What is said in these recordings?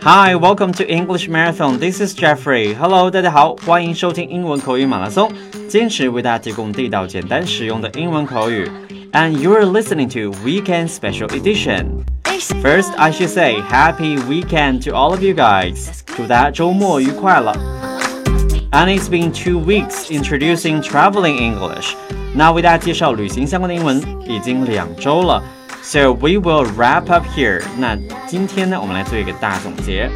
Hi, welcome to English Marathon. This is Jeffrey. Hello, 大家好，欢迎收听英文口语马拉松，坚持为大家提供地道、简单、实用的英文口语。And you're listening to Weekend Special Edition. First, I should say Happy Weekend to all of you guys. 祝大家周末愉快了。And it's been 2 weeks introducing traveling English. 那为大家介绍旅行相关的英文已经2周了。So we will wrap up here. 那今天呢，我们来做一个大总结。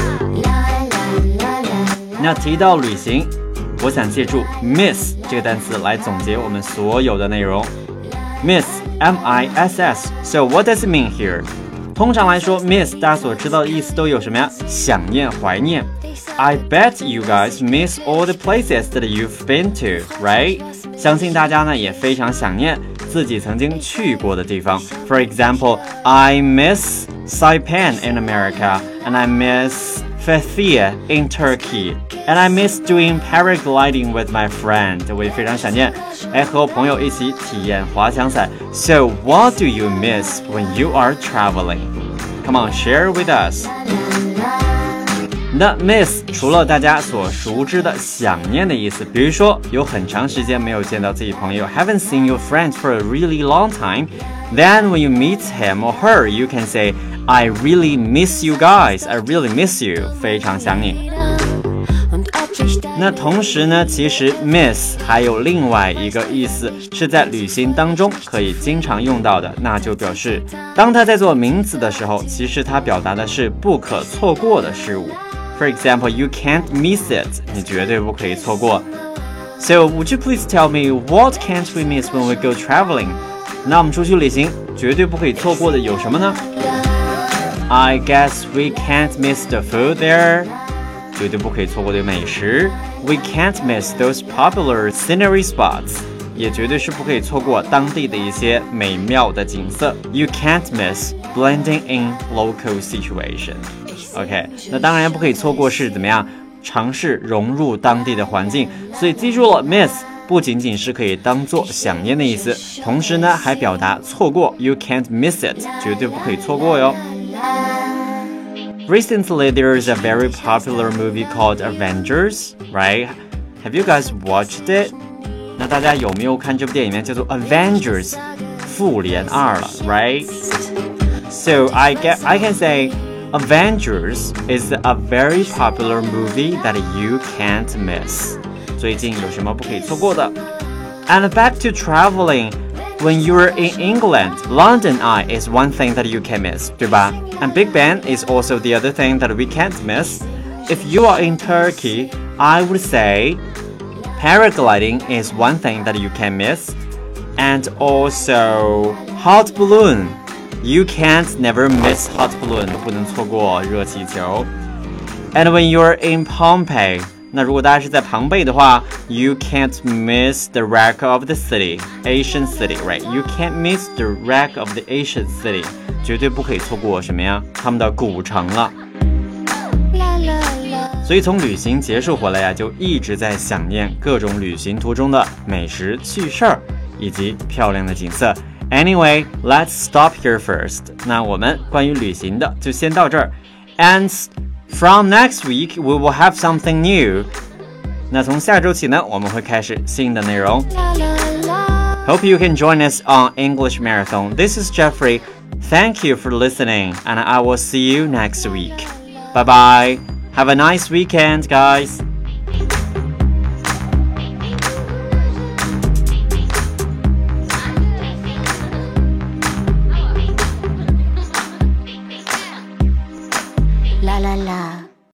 那提到旅行，我想借助 miss 这个单词来总结我们所有的内容。Miss, M-I-S-S. So what does it mean here? 通常来说 miss 大家所知道的意思都有什么呀？想念、怀念。I bet you guys miss all the places that you've been to, right? 相信大家呢也非常想念自己曾经去过的地方。For example, I miss Saipan in America, and I miss Fethiye in Turkey, and I miss doing paragliding with my friend. 我也非常想念和我朋友一起体验滑翔伞。So what do you miss when you are traveling? Come on, share with us. 那 miss 除了大家所熟知的想念的意思，比如说有很长时间没有见到自己朋友 haven't seen your friends for a really long time, then when you meet him or her, you can say I really miss you guys, I really miss you, 非常想你。那同时呢，其实 miss 还有另外一个意思，是在旅行当中可以经常用到的，那就表示当它在做名词的时候，其实它表达的是不可错过的事物。For example, you can't miss it. 你绝对不可以错过。So, would you please tell me what can't we miss when we go traveling? 那我们出去旅行绝对不可以错过的有什么呢？ I guess we can't miss the food there. 绝对不可以错过的美食。We can't miss those popular scenery spots. 也绝对是不可以错过当地的一些美妙的景色。You can't miss blending in local situation.OK， 那当然不可以错过是怎么样尝试融入当地的环境，所以记住了 miss 不仅仅是可以当做想念的意思，同时呢还表达错过 You can't miss it， 绝对不可以错过哟。Recently there is a very popular movie called Avengers, right? Have you guys watched it? 那大家有没有看这部电影呢？叫做 Avengers 复联2了 right? So I can say Avengers is a very popular movie that you can't miss. 最近有什么不可以错过的？ And back to traveling. When you're in England, London Eye is one thing that you can miss, 对吧？ And Big Ben is also the other thing that we can't miss. If you are in Turkey, I would say paragliding is one thing that you can miss. And also hot balloon.You can't never miss hot balloon, 不能错过热气球。And when you're in Pompeii, 那如果大家是在庞贝的话 You can't miss the wreck of the city, Asian city, right? You can't miss the wreck of the Asian city. 绝对不可以错过什么呀？他们的古城了。所以从旅行结束回来呀，就一直在想念各种旅行途中的美食、趣事儿以及漂亮的景色。Anyway, let's stop here first. 那我们关于旅行的就先到这儿。And from next week, we will have something new. 那从下周起呢，我们会开始新的内容。Hope you can join us on English Marathon. This is Jeffrey. Thank you for listening, and I will see you next week. Bye bye. Have a nice weekend, guys. La la la.